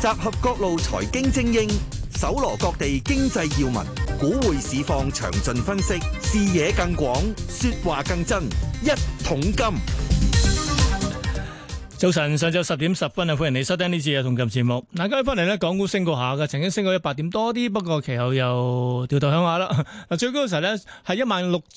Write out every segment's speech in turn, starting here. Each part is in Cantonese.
集合各路財經精英，搜羅各地經濟要聞，股匯市況詳盡分析，視野更廣，說話更真。一桶金。 早晨，上晝10點10分啊，歡迎你收聽呢次嘅一桶金節目。嗱，今日翻嚟咧，港股升過下嘅，曾經升過100點多啲，不過其後又掉頭向下啦。嗱，最高嘅時候咧係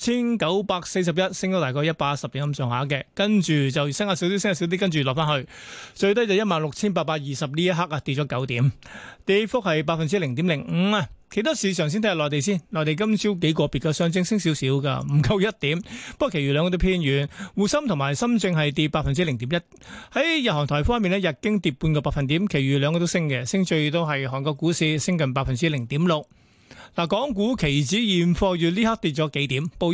16,941，升咗大概110點咁上下嘅，跟住就升下少啲，升下少啲，跟住落翻去，最低就16,820呢一刻啊，跌咗9點，跌幅係0.05%啊。其他市場先睇下內地先，內地今朝幾個別嘅上證升少少噶，唔夠1點，不過其餘兩個都偏軟。滬深同埋深證係跌0.1%。喺日韓台方面咧，日經跌半個百分點，其餘兩個都升嘅，升最多係韓國股市升近0.6%。嗱，港股期指現貨月呢刻跌咗幾點，報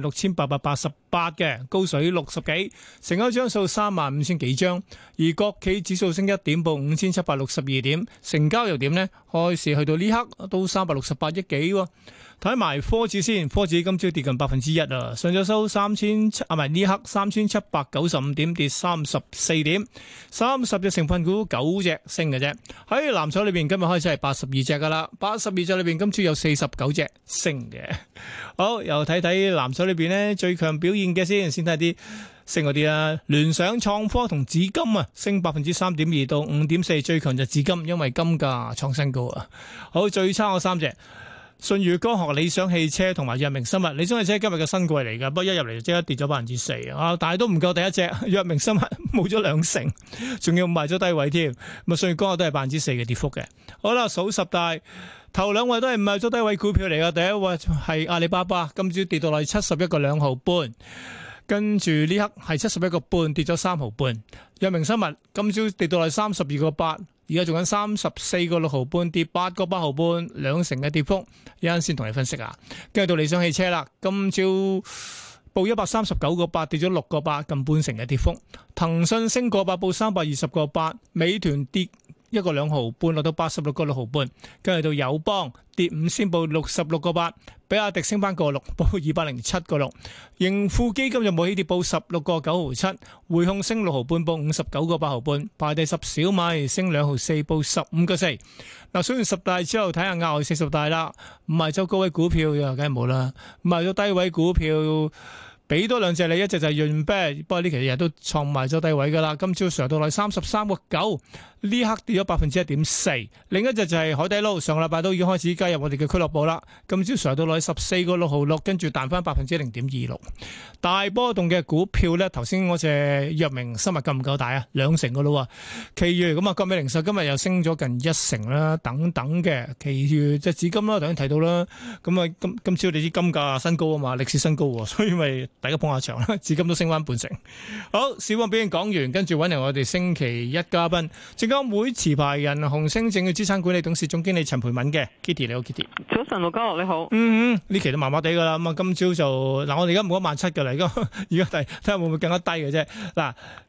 16,888嘅，高水60幾，成交張數35,000幾張，而國企指數升1點，報5,762點，成交又點呢？開市去到呢刻都368億幾喎。睇埋科指先，科指今朝跌近1%啊，上晝收呢刻3,795點，跌34點，30隻成分股9隻升嘅啫。喺藍籌裏邊，今日開始係82隻噶啦，82隻裏邊今朝有49隻升嘅。好，又睇睇藍籌裏邊呢，最強表現嘅先睇啲升嗰啲啦。聯想、創科同紫金啊，升3.2%到5.4%，最強就紫金，因為金價創新高啊。好，最差嗰3隻。舜宇光學、理想汽車同埋藥明生物。理想汽車今日嘅新貴嚟㗎，不過一入嚟就即刻跌咗4%啊！但係都唔夠第一隻藥明生物冇咗2成，仲要賣咗低位添。咁啊，舜宇光學都係4%嘅跌幅嘅。好啦，數十大頭兩位都係賣咗低位股票嚟㗎。第一位係阿里巴巴，今朝跌到嚟71個2毫半，跟住呢刻係71個半，跌咗3毫半。藥明生物今朝跌到嚟32個8。而家做緊34個6毫半，跌8個8毫半，2成嘅跌幅。一陣先同你分析啊。跟住到理想汽車啦，今朝報139個8，跌咗6個8，近半成嘅跌幅。騰訊升個8，報320個8。美團跌1個2毫半，落到86個6毫半。跟住到友邦跌5仙，報66個8。比亞迪升翻個6，報207個6。盈富基金就冇起跌，報16個9毫7。匯控升6毫半，報59個8毫半。排第10小米升2毫4，報15個4。嗱，數完10大之後，睇下額外40大啦。唔係周高位股票又梗係冇啦，賣咗低位股票。俾多兩隻你，一隻就係潤啤，不過呢期日都創埋咗低位噶啦。今朝上到嚟33個9，呢刻跌咗1.4%。另一隻就係海底撈，上個禮拜都已經開始加入我哋嘅俱樂部啦。今朝上到嚟14個6毫6，跟住彈翻0.26%。大波動嘅股票咧，頭先嗰隻藥明生物夠唔夠大啊？2成噶咯。其餘咁啊，國美零售今日又升咗近1成啦，等等嘅。其餘即係紫金啦，頭先提到啦。咁啊，今朝你知金價新高啊嘛，歷史新高，所以咪。大家捧下場啦，至今都升翻半成。好，市況表現講完，跟住揾嚟我哋星期一嘉賓，證監會持牌人紅星證券資產管理董事總經理陳培敏嘅 Kitty， 你好 Kitty。 早晨，盧家樂你好。 呢期都麻麻地噶啦，咁啊今朝就嗱，我哋而家冇17000嘅啦，而家睇下會唔會更加低嘅啫。嗱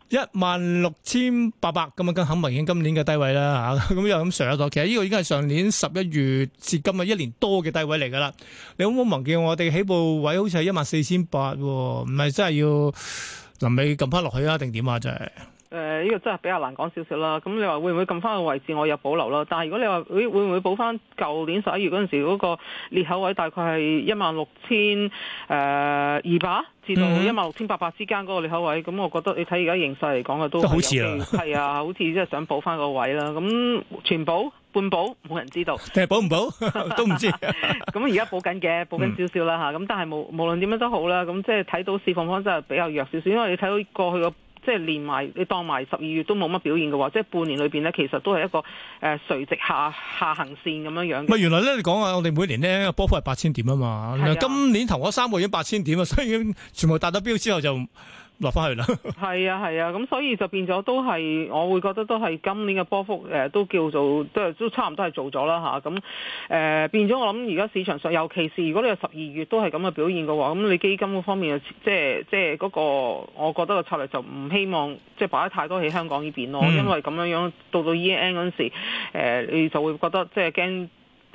，16,800咁啊，更肯明顯今年嘅低位啦嚇，咁又咁上咗。其實呢個已經係上年11月至今日1年多嘅低位嚟噶啦。你好唔好忘記我哋起步位好似係14,800喎，唔係真係要臨尾撳翻落去啊？定點啊？真係。 呢個真係比較難講少少啦。咁你話會唔會撳翻個位置？我有保留啦。但係如果你話會唔會補翻舊年11月嗰陣時嗰個裂口位，大概係16,200至到16,800之間嗰個裂口位，咁我覺得你睇而家形勢嚟講嘅都好似啦， 係啊，好似即係想補翻個位啦。咁全補半補冇人知道， 定係補唔補都唔知。 咁而家補緊嘅，補緊少少啦嚇。咁但係無論點樣都好啦，咁即係睇到市況方真係比較弱少少，因為你睇到過去個。即係連埋你當埋12月都冇乜表現嘅話，即係半年裏邊咧，其實都係一個垂直下行線咁樣樣。 唔係原來咧，你講啊，我哋每年咧波幅係8,000點啊嘛。今年頭嗰3個月已經8,000點啊，所以已經全部達到標之後就落翻去啦。 係啊，咁所以就變咗都係，我會覺得都係今年嘅波幅都叫做都差唔多係做咗啦嚇。咁變咗我諗而家市場上，尤其是如果你係12月都係咁嘅表現嘅話，咁你基金嗰方面即係嗰個，我覺得個策略就唔希望即係擺得太多喺香港呢邊咯，因為咁樣到 year end 嗰陣時，你就會覺得即係驚。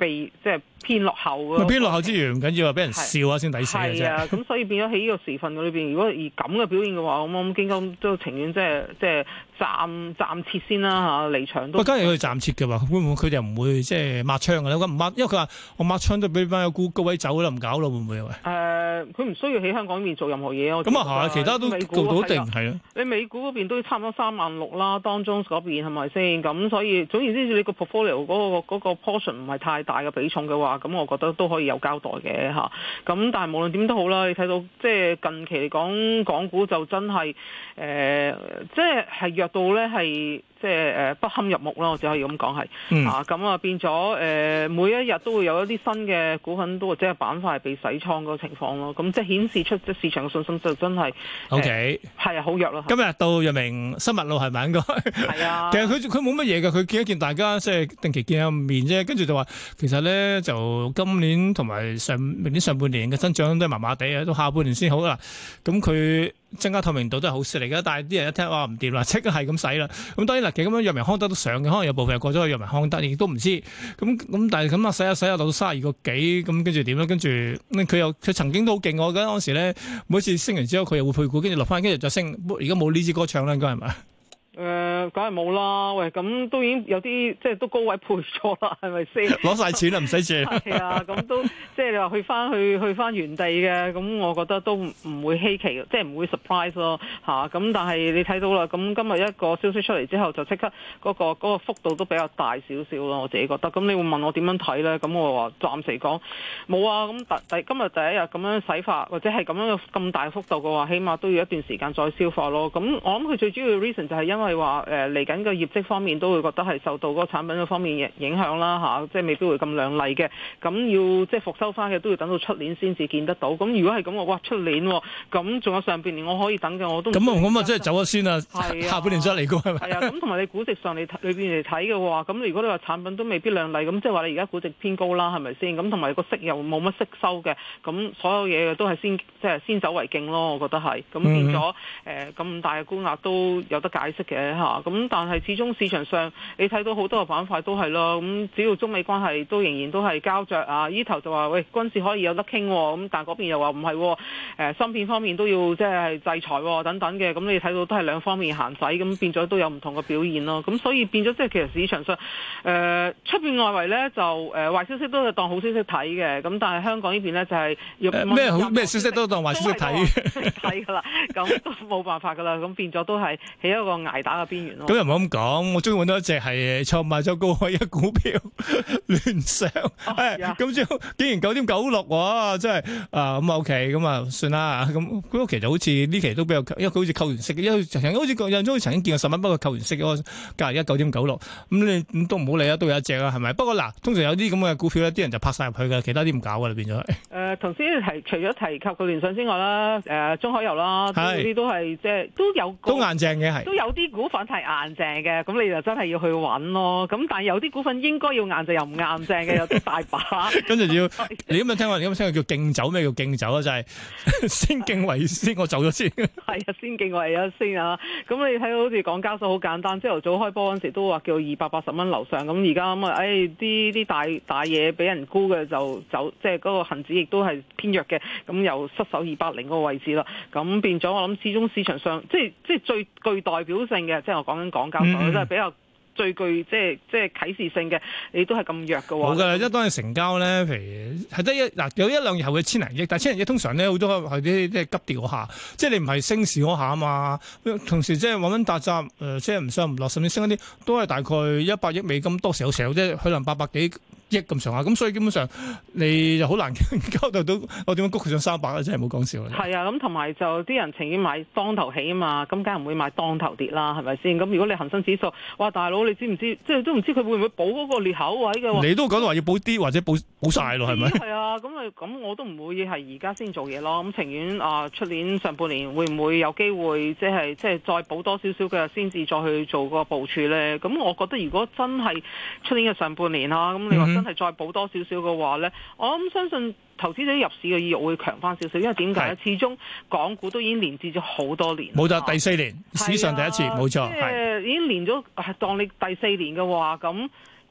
即係偏落後嘅。 偏落後之餘唔緊要啊，俾人笑下先抵死嘅啫。 係啊，咁所以變咗喺呢個時份裏邊，如果以咁嘅表現嘅話，咁基金都情願即係暫撤先啦嚇，離場都。 假如佢暫撤嘅話，會唔會佢哋唔會即係抹槍嘅咧？唔抹，因為佢話我抹槍都俾翻個高位走啦，唔搞咯，會唔會啊？ 佢唔需要喺香港呢邊做任何嘢。 咁啊係，其他都做到定係啊。 你美股嗰邊都差唔多36000啦，當中嗰邊係咪先？咁所以總言之，你個 portfolio 嗰個 portion 唔係太大嘅比重嘅話，咁我覺得都可以有交代嘅嚇。咁但係無論點都好啦，你睇到即係近期嚟講，港股就真係即係弱到咧係。即係不堪入目啦，我只可以咁講係咁啊變咗每一日都會有一啲新嘅股份都或者係板塊係被洗倉嗰個情況咯，咁即係顯示出即市場嘅信心就真係 OK 係啊好弱咯。 今日到藥明生物路係咪應該？係啊，其實佢冇乜嘢嘅，佢見一見大家即係定期見下面啫，跟住就話其實咧就今年同埋明年上半年嘅增長都係麻麻地啊，到下半年先好啦。咁佢增加透明度都係好事嚟㗎，但係啲人一聽話唔掂啦，即刻係咁使啦。咁當然啦，其實咁樣藥明康德都上嘅，可能有部分又過咗去藥明康德，亦都唔知。咁但係咁啊，使下到32個幾，咁跟住點咧？跟住佢曾經都好勁，我覺得嗰時咧每次升完之後佢又會配股，跟住落翻，跟住再升。而家冇呢支歌唱啦，應該係咪？ 梗係冇啦，喂，咁都已經有啲即係都高位配咗啦，係咪先？攞晒錢啦，唔使借。 係啊，咁都即係你話去翻原地嘅，咁我覺得都唔會稀奇，即係唔會 surprise 咯嚇。咁但係你睇到啦，咁今日一個消息出嚟之後，就即刻嗰個幅度都比較大少少咯，我自己覺得。咁你會問我點樣睇咧？咁我話暫時講冇啊。咁今日第一日咁樣洗法，或者係咁樣咁大幅度嘅話，起碼都要一段時間再消化咯。咁我諗佢最主要嘅 reason 就係因為話嚟緊嘅業績方面都會覺得係受到嗰個產品嗰方面影響啦嚇，即係未必會咁亮麗嘅。咁要即係復收翻嘅都要等到出年先至見得到。咁如果係咁，哇出年咁仲有上半年我可以等嘅，我都咁啊，即係走咗先啦。下半年再嚟過係咪？ 係啊，咁同埋你估值上你裏邊嚟睇嘅話，咁如果你話產品都未必亮麗，咁即係話你而家估值偏高啦，係咪先？咁同埋個息又冇乜息收嘅，咁所有嘢都係先走為敬咯，我覺得係。咁變咗咁大嘅沽壓都有得解釋嘅嚇。咁但係始終市場上你睇到好多個板塊都係咯，咁只要中美關係都仍然都係膠着啊，呢頭就話喂軍事可以有得傾，咁但係嗰邊又話唔係，芯片方面都要即係制裁等等嘅，咁你睇到都係兩方面限制，咁變咗都有唔同嘅表現咯。咁所以變咗即係其實市場上出邊外圍咧就壞消息都係當好消息睇嘅，咁但係香港呢邊咧就係咩消息都當壞消息睇睇㗎啦，咁都冇辦法㗎啦，咁變咗都係喺一個捱打嘅邊緣咯。 咁又唔好咁講，我終於揾到一隻係創賣咗高位嘅股票聯想，咁之後竟然9.96喎，真係咁 OK，咁啊算啦。咁嗰期就好似呢期都比較，因為佢好似扣完息，因為曾經好似曾經見過10蚊，不過扣完息嗰個價而家9.96，咁你都唔好理啦，都有一隻啦，係咪？不過嗱，通常有啲咁嘅股票咧，啲人就拍晒入去㗎，其他啲唔搞㗎啦，變咗係。 頭先除咗提及個聯想之外啦，中海油啦，嗰啲都係即係都有都硬淨嘅係， 都有啲股份係硬淨嘅，咁你就真係要去揾咯。咁但係有啲股份應該要硬淨又唔硬淨嘅，有啲大把。跟住要你咁樣聽話，你咁樣聽話叫競走，咩叫競走啊？就係先競為先，我走咗先。係啊，先競為咗先啊。咁你睇到好似港交所好簡單，朝頭早開波嗰陣時都話叫280蚊樓上，咁而家咁啊，啲大嘢俾人沽嘅就走，即係嗰個恆指亦都係偏弱嘅，咁又失守280嗰個位置啦。咁變咗我諗，始終市場上即係最具代表性嘅，即係我講緊港交所，真係比較最具即係啟示性嘅，你都係咁弱嘅喎。冇㗎，一當你成交咧，譬如係得有一兩日後嘅千零億，但係千零億通常咧好多係啲即係急跌嗰下，即係你唔係升市嗰下啊嘛。同時即係揾打雜，即係唔上唔落，甚至升一啲都係大概100億美金，多時有時候即係可能800幾億咁上下，咁所以基本上你就好難交代到我點樣谷佢上300啦，真係冇講笑啦。係啊，咁同埋就啲人情願買當頭起啊嘛，咁梗係唔會買當頭跌啦，係咪先？咁如果你恒生指數，哇大佬你知唔知？即係都唔知佢會唔會補嗰個裂口位嘅？你都講到話要補啲或者補晒咯，係咪？係啊，咁我都唔會係而家先做嘢咯。咁情願出年上半年會唔會有機會即係再補多少少嘅先至再去做個部署咧？咁我覺得如果真係出年嘅上半年咁你話真係再補多少少嘅話咧，我諗相信投資者入市嘅意欲會強翻少少，因為點解咧？始終港股都已經連跌咗好多年，冇錯，第4年史上第一次，冇錯，即係已經連咗當你第4年嘅話，咁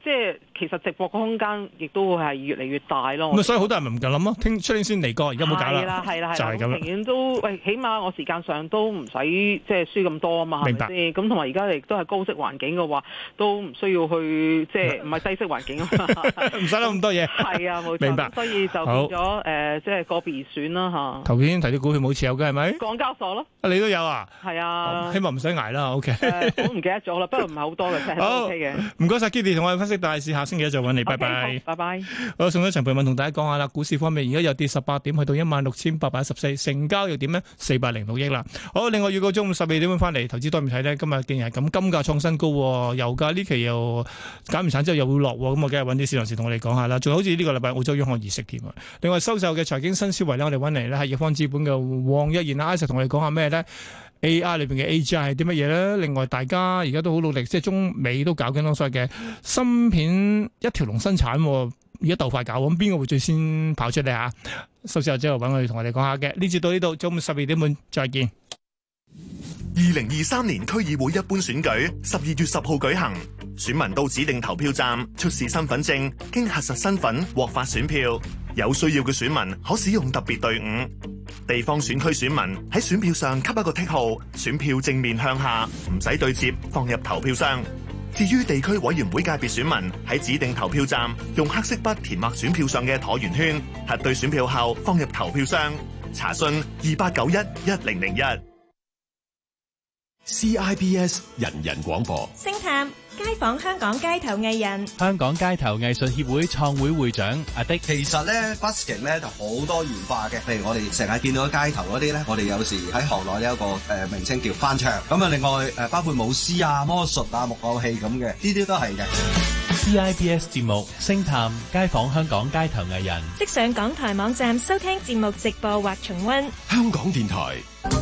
即係其實直播個空間亦都會係越嚟越大咯。 咁所以好多人咪唔夠諗咯，出年先嚟過，而家冇搞啦。 係啦， 就係咁啦。 寧願都起碼我時間上都唔使即係輸咁多啊嘛，係咪先？咁同埋而家亦都係高息環境嘅話，都唔需要去即係唔係低息環境啊嘛， 唔使諗咁多嘢。 係啊，冇錯。 明白。 所以就變咗即係個別而選啦嚇。 頭先提到股票冇持有嘅係咪？ 港交所咯。 你都有啊？ 係啊。 希望唔使捱啦。OK。 我唔記得咗啦，不過唔係好多嘅，真係 OK 嘅。 唔該晒 Kitty 同我哋分析大市，下星期一再揾你，拜拜。 拜拜。 好，送咗陳培文同大家講下啦，股市方面而家又跌18點，去到16,814，成交又點呢？406億啦。好，另外預告中午12點半翻嚟，投資多面睇呢。今日竟然係咁，金價創新高，油價呢期又減完產之後又會落，咁我梗係揾啲市場人士同我哋講下啦。仲好似呢個禮拜澳洲央行議息添啊。另外收售嘅財經新思維呢，我哋揾嚟呢係易方資本嘅黃一賢阿 Sir 同我哋講下咩呢？ AI 裏邊嘅 AGI 係啲乜嘢咧？另外大家而家都好努力，即係中美都搞緊所謂嘅芯片一條龍生產，而家鬥快搞，咁邊個會最先跑出嚟啊？收市後之後揾佢同我哋講下嘅。呢節到呢度，中午12點半再見。 2023年區議會一般選舉12月10號舉行，選民到指定投票站出示身份證，經核實身份獲發選票。有需要嘅選民可使用特別隊伍。地方選區選民喺選票上給一個剔號，選票正面向下，唔使對接，放入投票箱。至於地區委員會界別選民喺指定投票站用黑色筆填畫選票上嘅橢圓圈，核對選票後放入投票箱。查詢28911001。 CIBS 人人廣播。 星探街訪香港街頭藝人， 香港街頭藝術協會創會會長阿迪。 其實咧 busking 咧就好多元化嘅，譬如我哋成日見到街頭嗰啲咧，我哋有時喺行內有一個名稱叫翻唱。咁啊，另外包括舞獅啊、魔術啊、木偶戲咁嘅，呢啲都係嘅。 CIBS 節目星探街訪香港街頭藝人， 即上港台網站收聽節目直播或重溫。 香港電台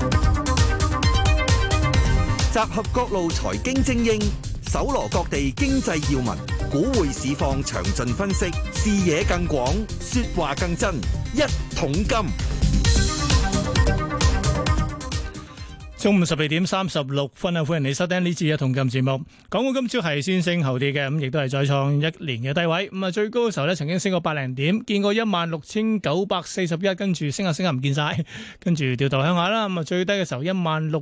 集合各路財經精英，搜羅各地經濟要聞，股匯市況詳盡分析，視野更廣，說話更真。一桶金。 中午12點36分啊！歡迎你收聽呢次嘅一桶金節目。港股今朝係先升後跌嘅，咁亦都係再創一年嘅低位。咁啊，最高嘅時候咧，曾經升過80點，見過16,941，跟住升下唔見晒，跟住掉頭向下啦。咁啊，最低嘅時候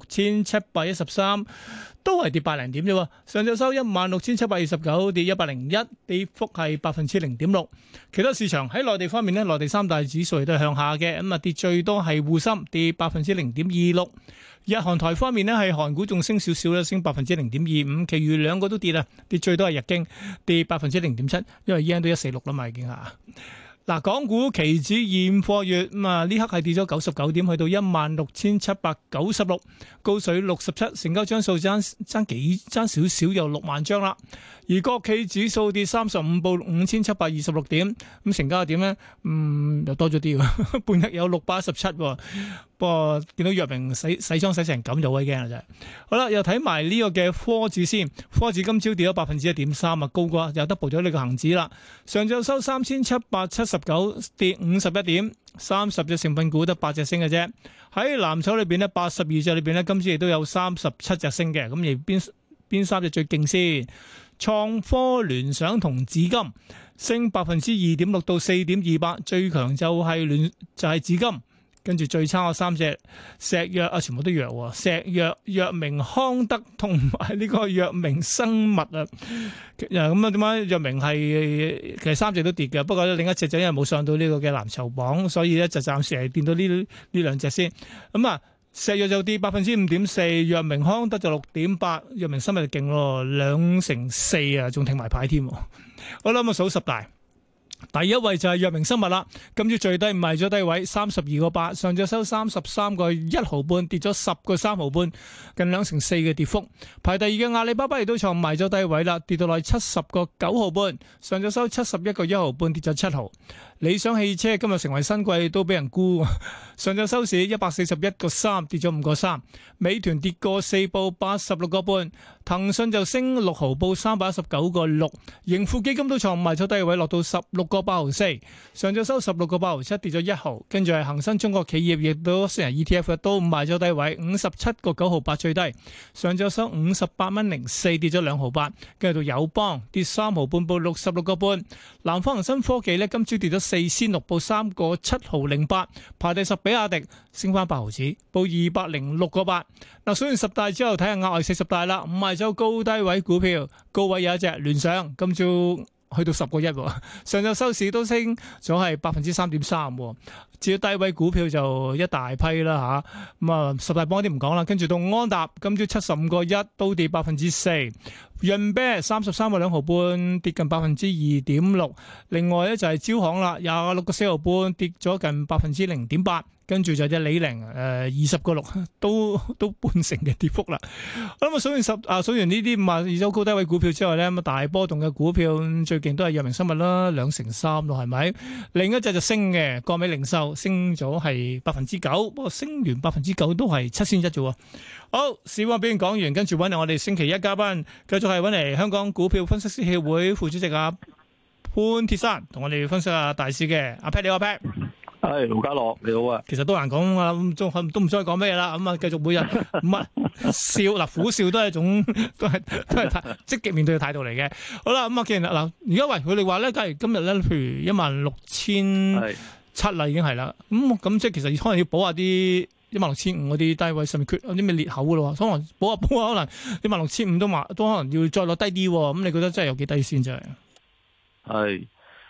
16,713，都係跌80點啫。上晝收16,729，跌101，跌幅係0.6%。其他市場喺內地方面呢，內地三大指數亦都係向下嘅，咁啊跌最多係滬深跌0.26%。日韓台方面呢，係韓股仲升少少啦，升0.25%，其餘兩個都跌啊，跌最多係日經跌0.07%，因為 yen 都146啦嘛已經嚇。嗱，港股期指現貨月咁啊，呢刻係跌咗99點，去到16,796，高水67，成交張數爭少少，有6萬張啦。而國企指數跌35，報5,726點，咁成交點呢？又多咗啲喎，半日有617喎。不過見到藥明洗裝洗成咁就好驚啦真係。好啦，又睇埋呢個嘅科指先，科指今朝跌咗1.3%啊，高過又 double 咗呢個恒指啦。上晝收3,779，跌51點，30隻成分股得8隻升嘅啫。喺藍籌裏邊呢，82隻裏邊呢，今朝亦都有37隻升嘅。咁而邊3隻最勁先？創科、聯想同紫金升2.6%到4.28%，最強就係紫金。跟住最差嘅3隻石藥啊，全部都弱喎。石藥、藥明康德同埋呢個藥明生物啊，咁啊點解藥明係其實3隻都跌嘅？不過另一隻就因為冇上到呢個嘅藍籌榜，所以咧就暫時係見到呢兩隻先。咁啊，石藥就跌5.4%，藥明康德就6.8%，藥明生物就勁咯，2成4啊，仲停埋牌添。好啦，咁啊數10大。第一位就係藥明生物啦，今朝最低賣咗低位32個8，上晝收33個1毫半，跌咗10個3毫半，近2成4嘅跌幅。排第二嘅阿里巴巴亦都創賣咗低位啦，跌到落70個9毫半，上晝收71個1毫半，跌咗7毫。 理想汽車今日成為新貴，都俾人沽。上晝收市141.3，跌咗5.3。美團跌過4，報86.5。騰訊就升6毫，報319.6。盈富基金都創賣咗低位，落到16.84。上晝收16.87，跌咗1毫。跟住係恒生中國企業，亦都私人 ETF 都賣咗低位，57.98最低。上晝收58.04，跌咗2毫8。跟住到友邦跌3毫半，報66.5。南方恒生科技呢，今朝跌咗4仙6，報3.7毫08。排第10，比亞迪升翻8毫子，報206.8。嗱，數完10大之後，睇下額外40大啦。五賣走高低位股票，高位有一隻聯想，今朝去到10.1，上晝收市都升咗係3.3%。至於低位股票就一大批啦吓，咁啊10大幫啲唔講啦，跟住到安踏今朝75.1，都跌4%。潤啤33.2毫半，跌近2.6%。另外咧就係招行啦，26.4毫半，跌咗近0.8%。跟住就隻李寧20.6，都半成嘅跌幅啦。咁啊數完呢啲52周高低位股票之外咧，咁大波動嘅股票最勁都係藥明生物啦，2.3%咯，係咪？另一隻就升嘅國美零售升咗係9%，不過升完9%都係7仙1啫喎。好，市況表現講完，跟住揾嚟我哋星期一嘉賓，繼續係揾嚟香港股票分析師協會副主席潘鐵珊，同我哋分析下大市嘅。阿 Pat 你好，阿 Pat。 係盧家樂你好啊， 其實都難講啊，都唔再講咩啦，咁啊繼續每日乜笑嗱苦笑都係一種都係積極面對嘅態度嚟嘅。好啦，咁啊既然嗱而家喂佢哋話咧，假如今日咧，譬如16,700啦，已經係啦，咁即係其實可能要補下啲16,500嗰啲低位上面缺有啲咩裂口噶咯，可能補下可能16,500都可能要再落低啲，咁你覺得真係有幾低先真係？ 係。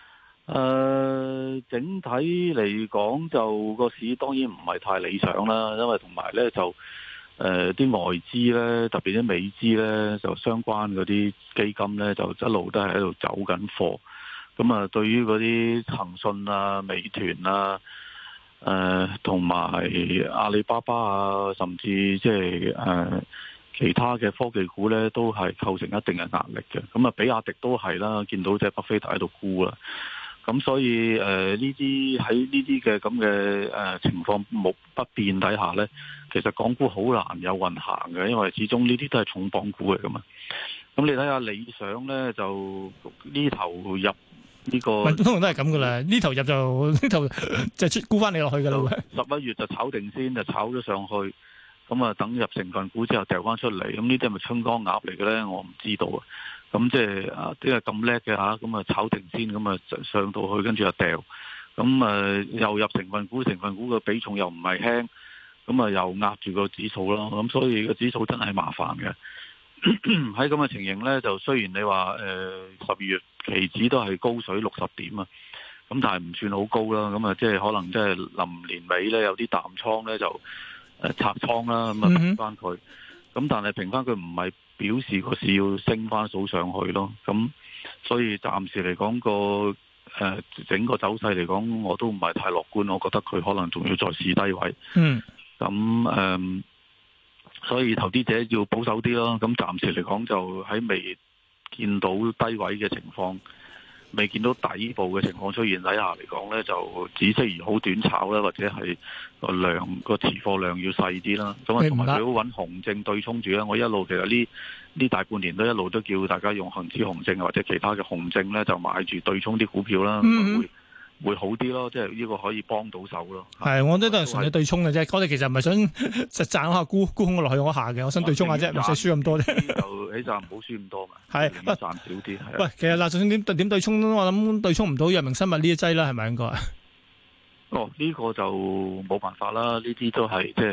整體嚟講就個市當然唔係太理想啦，因為同埋咧就啲外資咧，特別啲美資咧，就相關嗰啲基金咧，就一路都係喺度走緊貨。咁啊，對於嗰啲騰訊啊、美團啊、同埋阿里巴巴啊，甚至即係其他嘅科技股咧，都係構成一定嘅壓力嘅。咁啊，比亞迪都係啦，見到隻巴菲特喺度沽啦。咁所以呢啲喺呢啲嘅咁嘅情況不變底下呢，其實港股好難有運行嘅，因為始終呢啲都係重磅股嚟噶嘛。咁你睇下理想呢，就呢頭入呢個， 通常都係咁噶啦，呢頭入就呢頭就沽翻你落去噶啦。 11月就炒定先，就炒咗上去，咁啊等入成分股之後掉翻出嚟，咁呢啲係咪春江鴨嚟嘅呢？我唔知道啊。咁即係啲係咁叻嘅吓，咁啊炒定先，咁啊上到去，跟住又掉，咁又入成分股，成分股嘅比重又唔係輕，咁啊又壓住個指數咯，咁所以個指數真係麻煩嘅。喺咁嘅情形呢，就雖然你話12月期指都係高水60點啊，咁但係唔算好高啦，咁啊即係可能即係臨年尾呢，有啲淡倉呢就拆倉啦，咁啊平翻佢，咁但係平翻佢唔係表示個市要升翻數上去咯，咁所以暫時嚟講個整個走勢嚟講，我都唔係太樂觀，我覺得佢可能仲要再試低位。咁所以投資者要保守啲咯。咁暫時嚟講就喺未見到低位嘅情況，未見到底部嘅情況出現底下嚟講呢，就只適宜好短炒啦，或者係個持貨量要細啲啦。咁啊，同埋最好揾紅證對沖住啦。我一路其實呢大半年都一路都叫大家用恒指紅證或者其他嘅紅證呢，就買住對沖啲股票啦，會好啲咯。即係呢個可以幫到手咯。係，我覺得都係純粹對沖嘅啫。我哋其實唔係想實賺下沽空落去嗰下嘅，我想對沖下啫，唔使輸咁多啫。就起碼唔好輸咁多嘛。係，賺少啲。喂，其實嗱，就算點對沖，我諗對沖唔到藥明生物呢一劑啦，係咪應該？呢個就冇辦法啦。呢啲都係即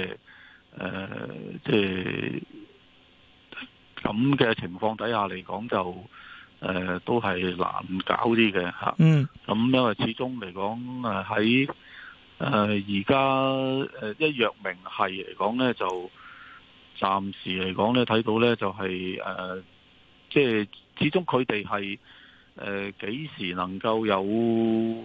係咁嘅情況底下嚟講就。都係難搞啲嘅吓，咁因為始終嚟講喺而家一藥明係嚟講咧，就暫時嚟講咧睇到咧就係即係始終佢哋係幾時能夠有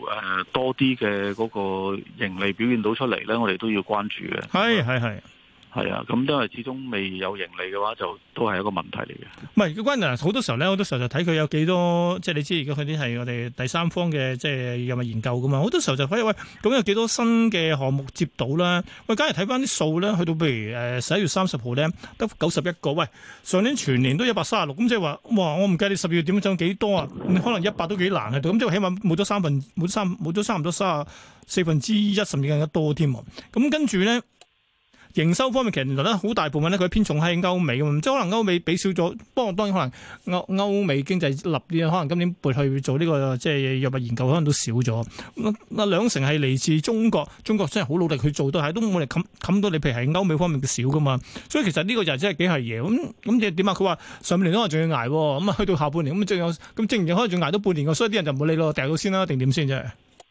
多啲嘅嗰個盈利表現到出嚟咧，我哋都要關注嘅。係。 係啊，咁因為始終未有盈利嘅話，就都係一個問題嚟嘅。 唔係，關鍵好多時候咧，好多時候就睇佢有幾多，即係你知而家佢啲係我哋第三方嘅即係藥物研究噶嘛。好多時候就睇喂，咁有幾多新嘅項目接到啦？喂，假如睇翻啲數咧，去到譬如11月30號咧，得91個。喂，上年全年都136，咁即係話，哇！我唔計你12月點樣漲幾多啊？可能100都幾難喺度，咁即係起碼冇咗差唔多1/4，甚至更加多添。咁跟住咧。營收方面，其實原來咧好大部分咧，佢偏重喺歐美嘅嘛，即係可能歐美比少咗。不過當然可能歐美經濟立啲，可能今年撥去做呢個即係藥物研究，可能都少咗。2成係嚟自中國，中國真係好努力去做，但係都冇力冚到你。譬如係歐美方面嘅少噶嘛，所以其實呢個就真係幾係嘢。咁即係點啊？佢話上半年可能仲要捱，咁啊去到下半年咁正可能仲捱到半年嘅，所以啲人就唔好理咯，掉到先啦，定點先啫？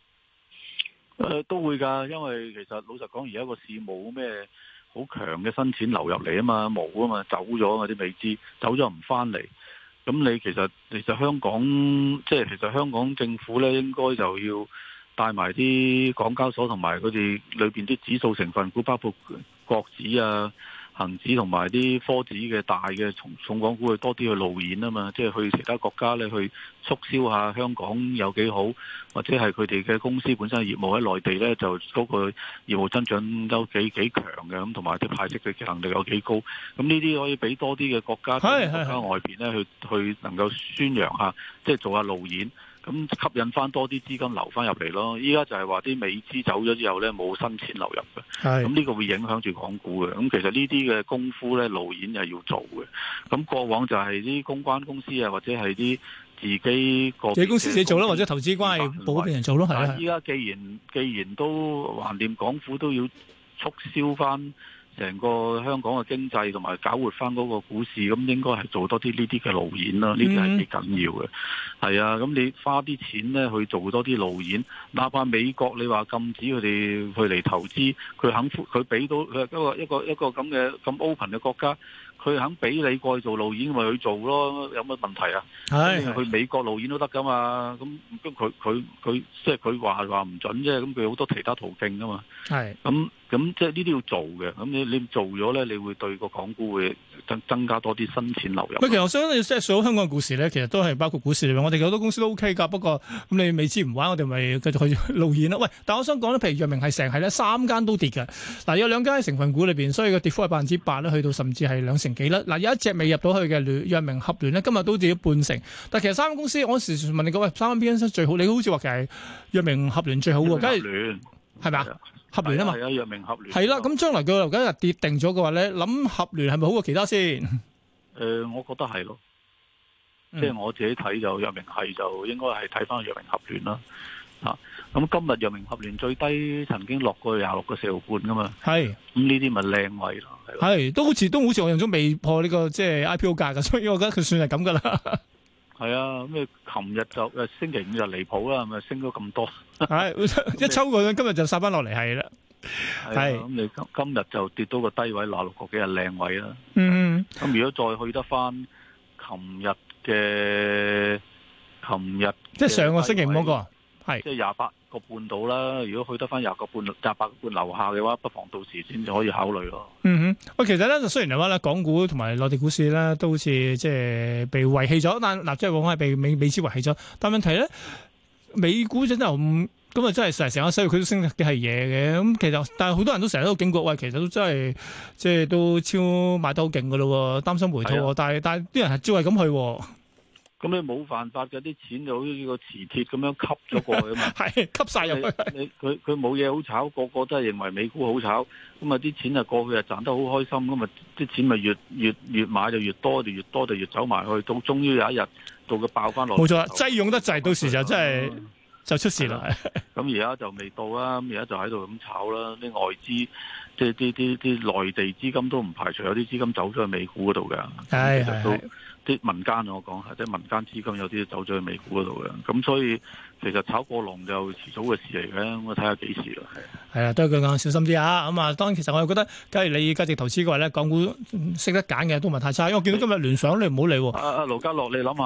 都會㗎，因為其實老實講，而家個市冇咩好強嘅新錢流入嚟啊嘛，冇啊嘛，走咗啊啲未知，走咗唔翻嚟。咁你其實香港其實香港政府咧，應該就要帶埋啲港交所同埋佢哋裏邊啲指數成分股，包括國指啊、恒指同埋啲科指嘅大嘅重港股，去多啲去路演啊嘛，即係去其他國家咧去促銷下香港有幾好，或者係佢哋嘅公司本身業務喺內地咧，就嗰個業務增長都幾強嘅，咁同埋啲派息嘅能力有幾高，咁呢啲可以俾多啲嘅國家外邊咧去能夠宣揚下，即係做下路演。咁吸引翻多啲資金流翻入嚟咯。依家就係話啲美資走咗之後咧，冇新錢流入嘅。咁呢個會影響住港股嘅。咁其實呢啲嘅功夫咧，路演係要做嘅。咁過往就係啲公關公司啊，或者係啲自己個公司自己做咯，或者投資關係保俾人做咯。係啊。 依家既然都橫掂，港府都要促銷翻成個香港嘅經濟同埋搞活翻嗰個股市，咁應該係做多啲呢啲嘅路演啦，呢啲係幾緊要嘅。係啊，咁你花啲錢咧去做多啲路演，哪怕美國你話禁止佢哋去嚟投資，佢俾到佢一個咁嘅咁 open 嘅國家，佢肯俾你過去做路演，咪去做咯，有乜問題啊？去美國路演都得噶嘛，咁佢即係佢話唔準啫，咁佢好多其他途徑噶嘛。係咁即係呢啲要做嘅，咁你做咗咧，你會對個港股會增加多啲新錢流入。 其實我想即係數香港嘅股市咧，其實都係包括股市裏面，我哋好多公司都 OK 㗎。不過咁你未知唔玩，我哋咪繼續去路演啦。喂，但我想講咧，譬如藥明係成係咧3間都跌嘅。嗱，有2間喺成分股裏邊，所以個跌幅係8%咧，去到甚至係2成幾啦。嗱，有一隻未入到去嘅藥明合聯咧，今日都跌咗半成。但其實3間公司，我時問你講，喂，3間邊間最好？你好似話其實藥明合聯最好喎，梗係係咪啊？合聯啊嘛， 係啊，藥明合聯係啦。咁將來佢樓價跌定咗嘅話咧，諗合聯係咪好過其他先？ 我覺得係咯，即係我自己睇就藥明係就應該係睇翻藥明合聯啦。咁今日藥明合聯最低曾經落過26個4毫半噶嘛。係咁呢啲咪靚位咯。 係都好似我用咗未破呢個即係 IPO 價噶，所以我覺得佢算係咁噶啦。 係啊，咁你琴日就星期5就離譜啦，咪升咗咁多。 係一抽過，今日就殺翻落嚟係啦。 係咁你今日就跌到個低位，26個幾係靚位啦。咁如果再去得翻琴日即係上個星期5嗰個係即係28個半到啦。如果去得翻28個半樓下嘅話，不妨到時先至可以考慮咯。 喂，其實咧，雖然嚟話咧，港股同埋內地股市咧都好似即係被遺棄咗，但嗱，即係往往係被美資遺棄咗。但問題咧，美股真係咁啊，真係成個西佢都升嘅係嘢嘅。咁其實，但係好多人都成日都警告，喂，其實都真係即係都超買得好勁噶咯，擔心回吐。但係啲人係照係咁去。 咁你冇辦法嘅，啲錢就好似個磁鐵咁樣吸咗過去啊嘛， 係吸晒入去。 佢冇嘢好炒，個個都係認為美股好炒，咁啊啲錢啊過去啊賺得好開心，咁啊啲錢咪越買就越多，就越多就越走埋去，到終於有一日到佢爆翻落。冇錯， 擠擁得滯，到時就真係就出事啦。 咁而家就未到啦，咁而家就喺度咁炒啦，啲外資即係啲內地資金都唔排除有啲資金走咗去美股嗰度嘅。係。啲民間我講係，即係民間資金有啲走咗去美股嗰度嘅，咁所以其實炒過龍就遲早嘅事嚟嘅，我睇下幾時啦。係啊， 都係佢講小心啲啊！咁啊，當然其實我又覺得，假如你價值投資嘅話咧，港股識得揀嘅都唔係太差，因為我見到今日聯想你唔好理喎。 盧家樂，你諗下啦，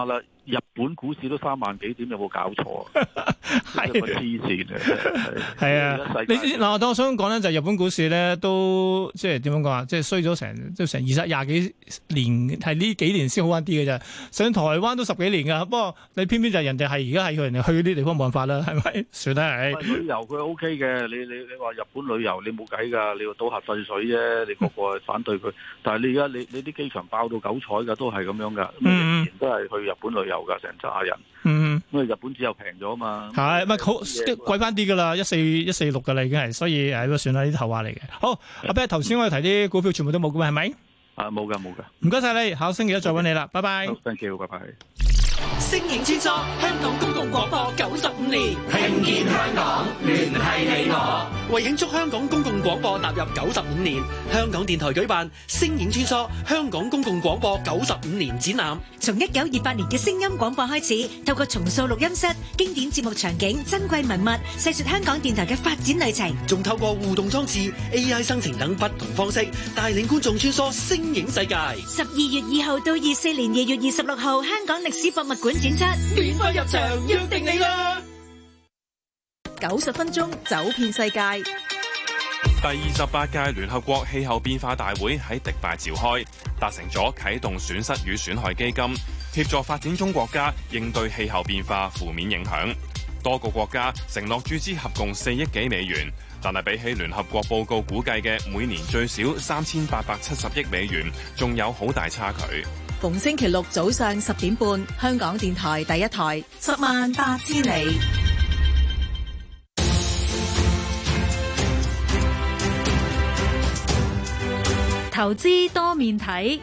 日本股市都3萬幾點，有冇搞錯啊？係個黐線嘅， 係啊！嗱，我想講咧，就日本股市咧都即係點樣講啊？即係衰咗成20幾年，係呢幾年先好翻啲嘅啫。上台灣都10幾年噶，不過你偏偏就係人哋係而家係人哋去嗰啲地方冇辦法啦，係咪？算啦，係。 旅遊佢 OK 嘅，你話日本旅遊你冇計㗎，你要倒核廢水啫，你個個係反對佢。但係你而家你啲機場爆到9彩㗎，都係咁樣㗎，仍然都係去日本旅遊㗎，成扎人。因為日本只有平咗啊嘛。係咪好貴翻啲㗎啦？146㗎啦，已經係，所以誒都算啦，呢啲後話嚟嘅。好，阿 Ben 頭先我哋提啲股票全部都冇嘅，係咪？ 冇㗎。 唔該晒你，下個星期一再揾你啦，拜拜。 Thank you，拜拜。 聲影穿梭香港公共廣播95年，聽見香港，聯繫你我。為慶祝香港公共廣播踏入95年，香港電台舉辦聲影穿梭香港公共廣播95年展覽。 從1928年嘅聲音廣播開始，透過重塑錄音室、經典節目場景、珍貴文物，細說香港電台嘅發展旅程。 仲透過互動裝置、AI 生成等不同方式，帶領觀眾穿梭聲影世界。 12月2號到24年2月26號，香港歷史博物館展出， 免費入場，約定你啦 ！90分鐘走遍世界。 第28屆聯合國氣候變化大會喺迪拜召開，達成咗啟動損失與損害基金，協助發展中國家應對氣候變化負面影響。多個國家承諾注資合共4億幾美元，但係比起聯合國報告估計嘅每年最少3870億美元，仲有好大差距。 逢星期六早上10點半，香港電台第一台，10萬8千里。 投資多面睇。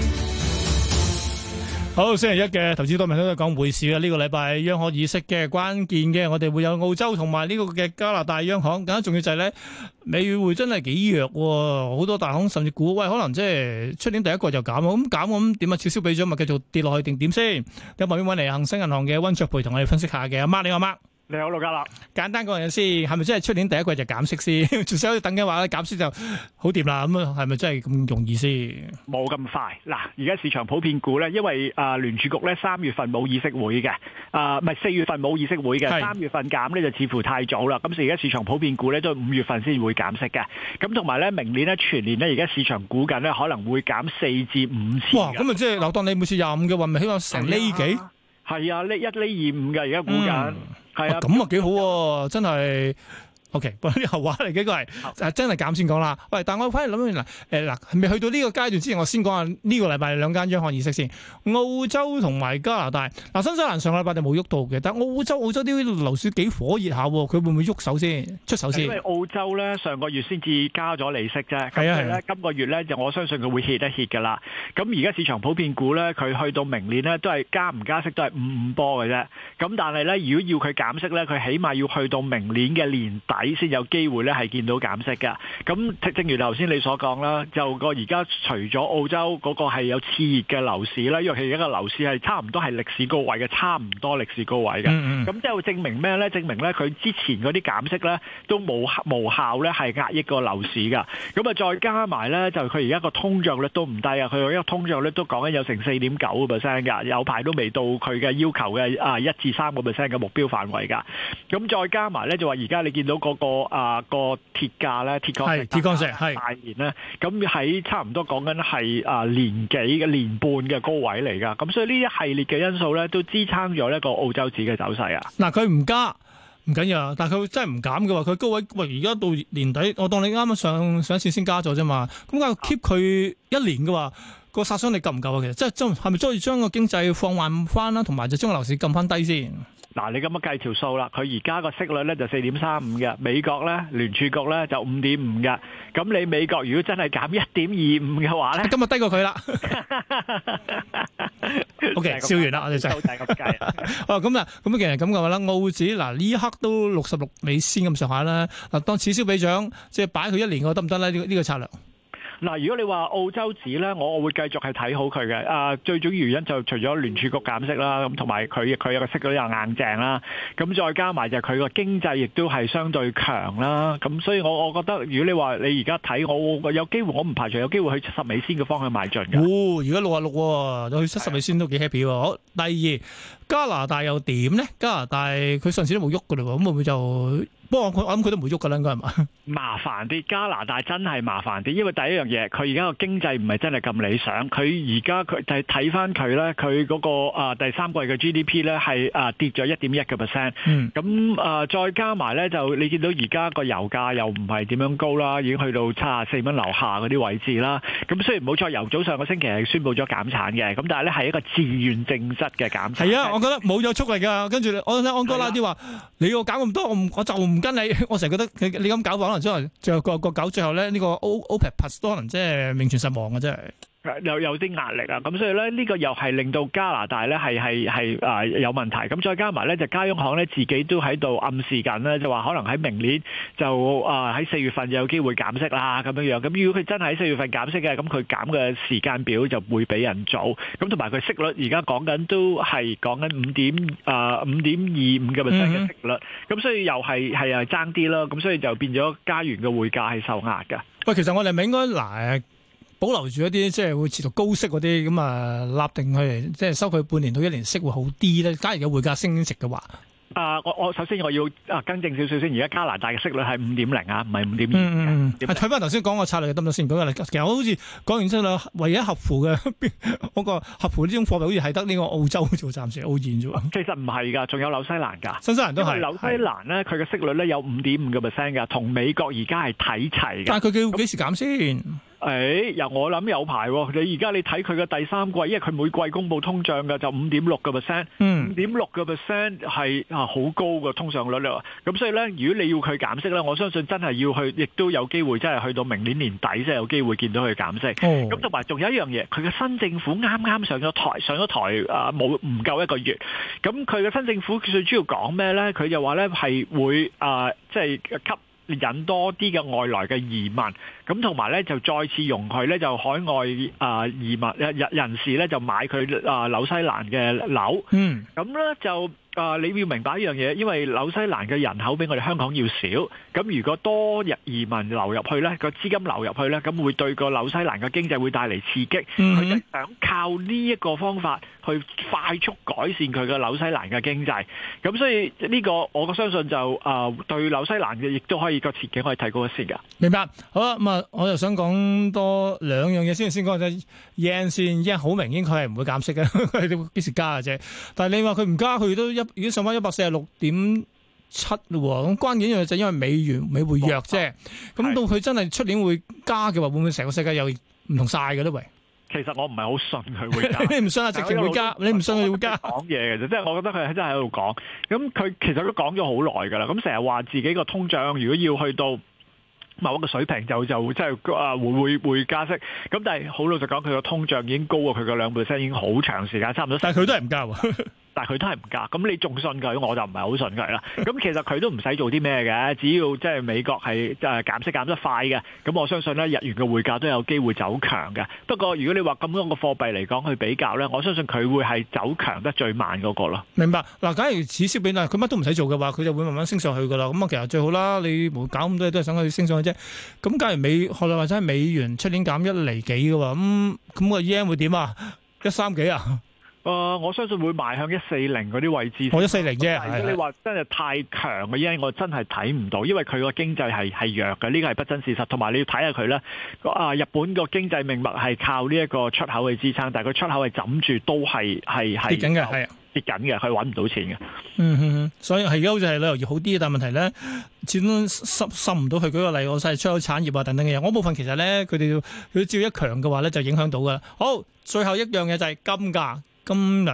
好，星期一嘅投資多面睇都係講匯市啦。呢個禮拜央行議息嘅關鍵嘅，我哋會有澳洲同埋呢個嘅加拿大央行。更加重要就係咧，美匯真係幾弱喎，好多大行甚至估喂，可能即係出年第一個就減，咁減咁點啊？悄悄俾咗咪繼續跌落去定點先？有旁邊揾嚟恒生銀行嘅溫灼培同我哋分析下嘅。阿媽，你好，阿媽。 你好，陸家樂。簡單講嘢先， 係咪真係出年第一季就減息先？仲想等嘅話咧，減息就好掂啦。咁係咪真係咁容易先？ 冇咁快。嗱，而家市場普遍估咧，因為聯儲局咧3月份冇議息會嘅，唔係4月份冇議息會嘅，3月份減咧就似乎太早啦。咁所以而家市場普遍估咧都係5月份先會減息嘅。咁同埋咧，明年咧全年咧而家市場估緊咧可能會減4至5次。 哇！咁啊即係嗱，當你每次25嘅話，咪起碼成厘幾？ 係啊，1厘25嘅而家估緊。係啊， 咁啊幾好喎，真係。OK， 不過啲後話嚟嘅，個係真係減先講啦。喂，但我反而諗起嗱，未去到呢個階段之前，我先講下呢個禮拜兩間央行議息先。澳洲同埋加拿大，嗱新西蘭上個禮拜就冇喐到嘅，但澳洲啲樓市幾火熱下，佢會唔會喐手先出手先？ 因為澳洲咧上個月先至加咗利息啫，咁所以咧今個月咧就我相信佢會歇一歇㗎啦。咁而家市場普遍估咧，佢去到明年咧都係加唔加息都係5波嘅啫。咁但係咧，如果要佢減息咧，佢起碼要去到明年嘅年底。先有機會咧係見到減息㗎。咁正如頭先你所講啦，就個而家除咗澳洲嗰個係有熾熱嘅樓市啦，因為佢而家個樓市係差唔多係歷史高位嘅，差唔多歷史高位嘅。咁即係證明咩咧？證明咧佢之前嗰啲減息咧都無效咧係壓抑個樓市㗎。咁啊再加埋咧就佢而家個通脹率都唔低啊！佢而家通脹率都講緊有成4.9% 㗎，有排都未到佢嘅要求嘅1至3% 嘅目標範圍㗎。咁再加埋咧就話而家你見到個鐵價咧，鐵礦石係大年咧，咁喺差唔多講緊係年半嘅高位嚟噶，咁所以呢一系列嘅因素咧，都支撐咗呢個澳洲紙嘅走勢啊。 嗱，佢唔加唔緊要，但係佢真係唔減嘅話，佢高位喂而家到年底，我當你啱啱上一次先加咗啫嘛，咁佢 keep 佢1年嘅話，個殺傷力夠唔夠啊？其實即係係咪再將個經濟放緩翻啦，同埋就將個樓市撳翻低先？ 嗱，你咁樣計條數啦，佢而家個息率咧就4.35嘅，美國咧聯儲局咧就5.5嘅，咁你美國如果真係減1.25嘅話咧， 今日低過佢啦。OK， 笑完啦，我哋就係咁計。 哦，咁啊，咁其實咁嘅話啦，澳紙嗱呢一刻都66美仙咁上下啦。嗱，當此消彼長，即係擺佢1年嘅得唔得咧？呢個策略？ 嗱，如果你話澳洲紙咧，我會繼續係睇好佢嘅。最主要原因就除咗聯儲局減息啦，咁同埋佢有個息率又硬淨啦，咁再加埋就係佢個經濟亦都係相對強啦。咁所以我覺得，如果你話你而家睇，我有機會，我唔排除有機會去70美仙嘅方向邁進嘅。 而家66喎，去70美仙都幾 happy 喎。好，第二加拿大又點咧？加拿大佢上次都冇喐㗎嘞喎，咁會唔會就？不過我諗佢都唔會喐㗎啦，應該係嘛？ 麻煩啲，加拿大真係麻煩啲，因為第一樣嘢，佢而家個經濟唔係真係咁理想。佢而家佢就係睇翻佢咧，佢嗰個第三季嘅 GDP 咧係跌咗1.1%。咁再加埋咧，就你見到而家個油價又唔係點樣高啦，已經去到74蚊樓下嗰啲位置啦。咁雖然冇錯，油早上個星期係宣布咗減產嘅，咁但係咧係一個自願性質嘅減產。係啊，我覺得冇咗速力㗎。跟住我睇安哥拉啲話，你要減咁多，我就唔跟你。我成日覺得你咁搞法，可能最後個搞最後咧，呢個 OPEC Plus 都可能即係名存實亡嘅，真係。 有啲壓力啊，咁所以咧呢個又係令到加拿大咧係有問題。咁再加埋咧就加央行咧自己都喺度暗示緊咧，就話可能喺明年就喺4月份就有機會減息啦咁樣樣。咁如果佢真係喺4月份減息嘅，咁佢減嘅時間表就會比人早。咁同埋佢息率而家講緊都係講緊5.25%嘅息率。咁所以又係爭啲啦。咁所以就變咗加元嘅匯價係受壓㗎。 喂，其實我哋咪應該保留住一啲即係會持續高息嗰啲咁啊，立定佢即係收佢半年到1年息會好啲咧。假如嘅匯價升值嘅話， 我首先我要更正少少先。而家加拿大嘅息率係5.0啊，唔係5.2。 睇翻頭先講個策略得唔得先？講其實我好似講完之後，唯一合乎嘅嗰個合乎呢種貨幣，好似係得呢個澳洲做暫時澳元啫喎。 其實唔係㗎，仲有紐西蘭㗎。 新西蘭都係。 紐西蘭咧，佢嘅息率咧有5.5%㗎，同美國而家係睇齊嘅。 但係佢幾時減先？ 我諗有排喎。你而家你睇佢嘅第三季，因為佢每季公佈通脹嘅就5.6%。5.6% 係好高嘅通脹率啦。咁所以咧，如果你要佢減息咧，我相信真係要去，亦都有機會真係去到明年年底先有機會見到佢減息。咁同埋仲有一樣嘢，佢嘅新政府啱啱上咗台唔夠一個月。咁佢嘅新政府最主要講咩咧？佢就話咧係會即係引多啲嘅外來嘅移民，咁同埋咧就再次容許咧就海外移民人士咧就買佢紐西蘭嘅樓。咁咧就你要明白一樣嘢，因為紐西蘭嘅人口比我哋香港要少，咁如果多移民流入去咧，個資金流入去咧，咁會對個紐西蘭嘅經濟會帶嚟刺激。佢就想靠呢一個方法去快速改善佢嘅紐西蘭嘅經濟。咁所以呢個我相信就對紐西蘭嘅亦都可以個前景可以提高一線㗎。 明白。好啦，咁我又想講多兩樣嘢先講隻 yen 先。yen 好明顯佢係唔會減息嘅，佢幾時加嘅啫？但係你話佢唔加，佢都已經上翻146.7咯。咁關鍵一樣就因為美匯弱啫。咁到佢真係出年會加嘅話，會唔會成個世界又唔同晒嘅咧？喂， 其實我唔係好信佢會加。 你唔信啊？直情會加？你唔信佢會加？ 講嘢嘅啫，即係我覺得佢真係喺度講。咁佢其實都講咗好耐㗎啦。咁成日話自己個通脹如果要去到某一個水平就即係會加息。咁但係好老實講，佢個通脹已經高過佢個2%，已經好長時間，差唔多。 但係佢都係唔加喎。 但係佢都係唔加，咁你仲信佢，我就唔係好信佢啦。咁其實佢都唔使做啲咩嘅，只要即係美國係減息減得快嘅，咁我相信咧日元嘅匯價都有機會走強嘅。不過如果你話咁多個貨幣嚟講去比較咧，我相信佢會係走強得最慢嗰個咯。 明白。嗱，假如此消彼長，佢乜都唔使做嘅話，佢就會慢慢升上去噶啦。咁其實最好啦，你冇搞咁多嘢都係想佢升上去啫。咁假如學你話齋美元出年減1厘幾嘅話，咁個 yen 會點啊？130幾啊？ 我相信會邁向140嗰啲位置。 140啫。 如果你話真係太強嘅 yen，我真係睇唔到，因為佢個經濟係弱嘅，呢個係不爭事實。同埋你要睇下佢咧，日本個經濟命脈係靠呢一個出口去支撐，但係佢出口係枕住都係跌緊嘅，係跌緊嘅，佢揾唔到錢嘅。 所以係而家好似係旅遊業好啲，但係問題咧，始終滲唔到去。舉個例，我係出口產業啊等等嘅嘢，我部分其實咧佢哋照一強嘅話咧就影響到噶啦。好，最後一樣嘢就係金價。今日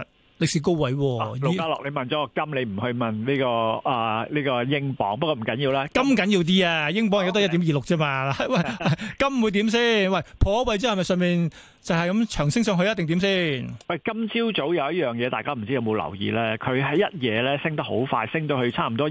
歷史高位盧家樂，你問咗個金，你唔去問呢個英鎊，不過唔緊要啦。 金緊要啲啊，英鎊而家都1.26啫嘛。喂，金會點先？喂，破位之後係咪上面就係咁長升上去一定點先？ 喂，今朝早有一樣嘢，大家唔知有冇留意咧？佢喺一夜咧升得好快，升到去差唔多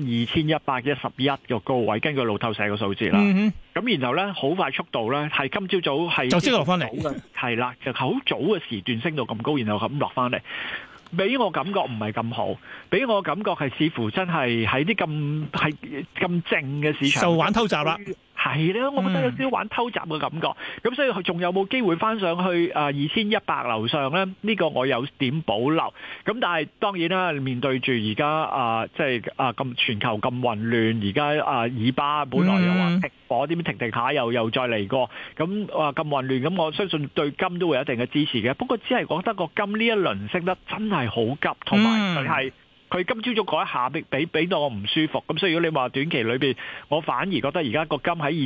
2111個高位，根據路透社個數字啦。咁然後咧好快速度咧，係今朝早係就即落翻嚟， 係啦，就好早嘅時段升到咁高，然後咁落翻嚟。俾我感覺唔係咁好，俾我感覺係似乎真係喺啲咁靜嘅市場就玩偷襲啦。 係啦，我覺得有少少玩偷襲嘅感覺。咁所以佢仲有冇機會翻上去2100樓上咧？呢個我有點保留。咁但係當然啦，面對住而家即係咁全球咁混亂，而家以巴本來又話停火，點停下又再嚟過，咁咁混亂，咁我相信對金都會有一定嘅支持嘅。不過只係覺得個金呢一輪升得真係好急，同埋佢今朝早嗰一下俾到我唔舒服，咁所以如果你話短期裏邊，我反而覺得而家個金喺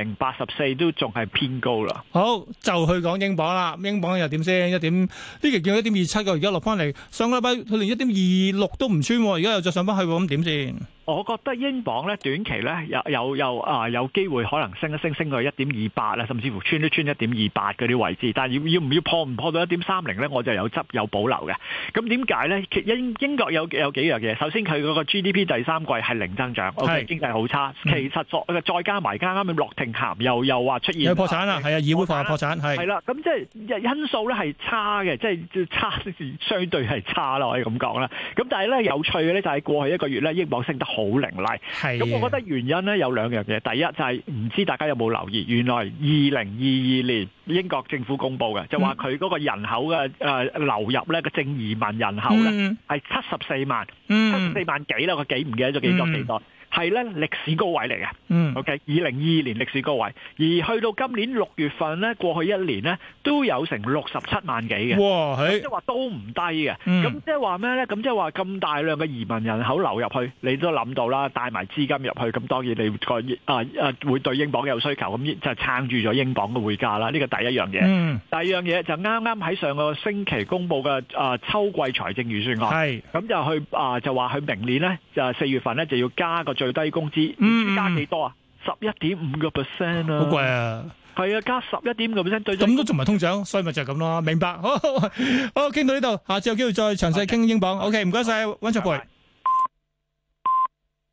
2084都仲係偏高啦。 好，就去講英鎊啦，英鎊又點先？呢期見到1.27個，而家落翻嚟，上個禮拜佢連1.26都唔穿，而家又再上翻去，咁點先？ 我覺得英鎊咧短期咧有機會可能升去1.28啦，甚至乎穿1.28嗰啲位置。但係要唔要破唔破到1.30咧？我就有保留嘅。咁點解咧？英國有幾樣嘢。首先佢嗰個 GDP 第三季係零增長，OK， 經濟好差。其實再加埋啱啱諾定咸又話出現有破產啦，係啊，議會化破產係啦。咁即係因素咧係差嘅，即係差相對係差啦，可以咁講啦。咁但係咧有趣嘅咧就係過去一個月咧英鎊升得好凌厲，咁我覺得原因咧有兩樣嘢。第一就係唔知大家有冇留意，原來2022年英國政府公布嘅就話佢嗰個人口嘅流入咧個正移民人口咧係74萬，74萬幾啦，個幾唔記得咗幾多。係咧歷史高位嚟嘅，OK， 2022年歷史高位，而去到今年6月份咧，過去一年咧都有成67萬幾嘅， 哇， 即係話都唔低嘅。咁即係話咩咧？咁即係話咁大量嘅移民人口流入去，你都諗到啦，帶埋資金入去，咁當然你會對英鎊有需求，咁就撐住咗英鎊嘅匯價啦。呢個第一樣嘢。第二樣嘢就啱啱喺上個星期公布嘅秋季財政預算案，咁就就話佢明年咧就4月份咧就要加個最低工資，加幾多啊？11.5%啊！ 好貴啊！ 係啊，加11.5%， 咁都仲唔係通脹，所以咪就係咁咯。明白，好，傾到呢度，下次有機會再詳細傾英鎊。OK，唔該晒，溫灼培。